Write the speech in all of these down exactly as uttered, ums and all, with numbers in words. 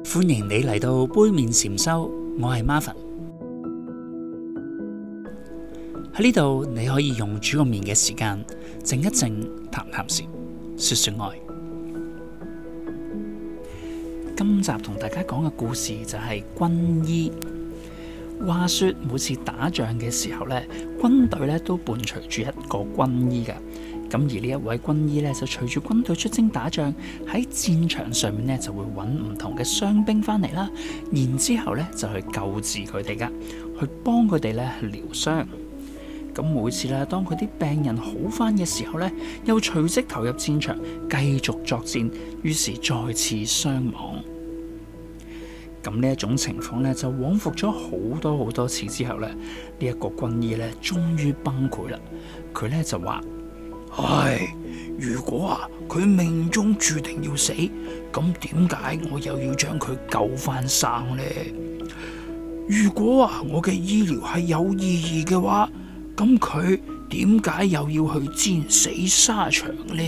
歡迎你嚟到杯麵禪修，我係 Marvin。喺呢度你可以用煮個麵嘅時間靜一靜，談談禪，說說愛。今集同大家講嘅故事就係軍醫。話說每次打仗嘅時候咧，軍隊咧都伴隨住一個軍醫嘅。咁而呢一位軍醫咧就隨住軍隊出征打仗，喺戰場上面咧就會揾唔同嘅傷兵翻嚟啦，然之後咧就去救治佢哋噶，去幫佢哋咧去療傷。咁每次咧當佢啲病人好翻嘅時候咧，又隨即投入戰場繼續作戰，於是再次傷亡。咁呢一種情況咧就往復咗好多好多次之後咧，呢、這、一個軍醫咧終於崩潰啦。佢咧就話：唉，如果啊佢命中注定要死，咁點解我又要將佢救翻生呢？如果啊我嘅醫療係有意義嘅話，咁佢點解又要去戰死沙場呢？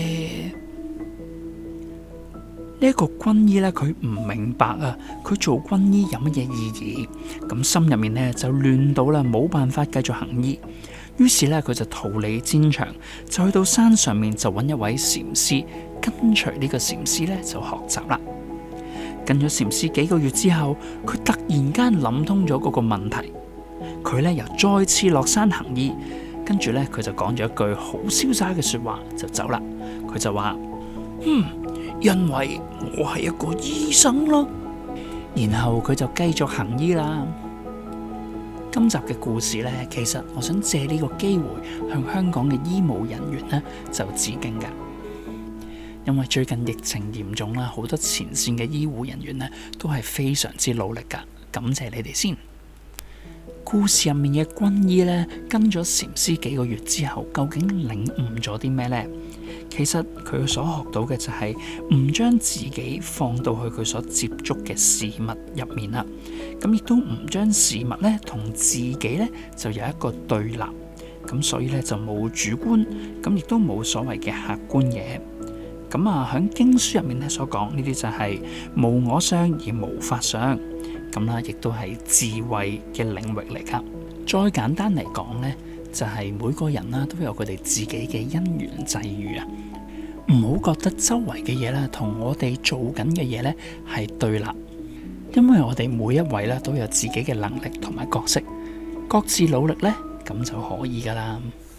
呢一個軍醫咧，佢唔明白啊，佢做軍醫有乜嘢意義？咁心入面咧就亂到啦，冇辦法繼續行醫。於是咧，佢就逃離戰場，就去到山上面就揾一位禪師，跟隨呢個禪師咧就學習啦。跟咗禪師幾個月之後，佢突然間諗通咗嗰個問題，佢咧又再次落山行醫，跟住咧佢就講咗一句好瀟灑嘅說話就走啦。佢就話：嗯。因為我係一個醫生咯，然後佢就繼續行醫啦。今集嘅故事呢，其實我想借呢個機會向香港嘅醫務人員呢就致敬噶，因為最近疫情嚴重啦，好多前線嘅醫護人員呢都係非常之努力噶，感謝你哋先。故事入面嘅軍醫呢，跟咗禪師幾個月之後，究竟領悟咗啲咩呢？其實佢所學到嘅就係唔將自己放到去佢所接觸嘅事物入面啦，咁亦都唔將事物咧同自己咧就有一個對立，咁所以咧就冇主觀，咁亦都冇所謂嘅客觀嘢。咁啊喺經書入面咧所講呢啲就係無我相而無法相，咁啦亦都係智慧嘅領域嚟噶。再簡單嚟講咧，就係每個人啦都有佢哋自己嘅因緣際遇啊，唔好覺得周圍嘅嘢咧同我哋做緊嘅嘢咧係對立，因為我哋每一位咧都有自己嘅能力同埋角色，各自努力咧咁就可以噶啦。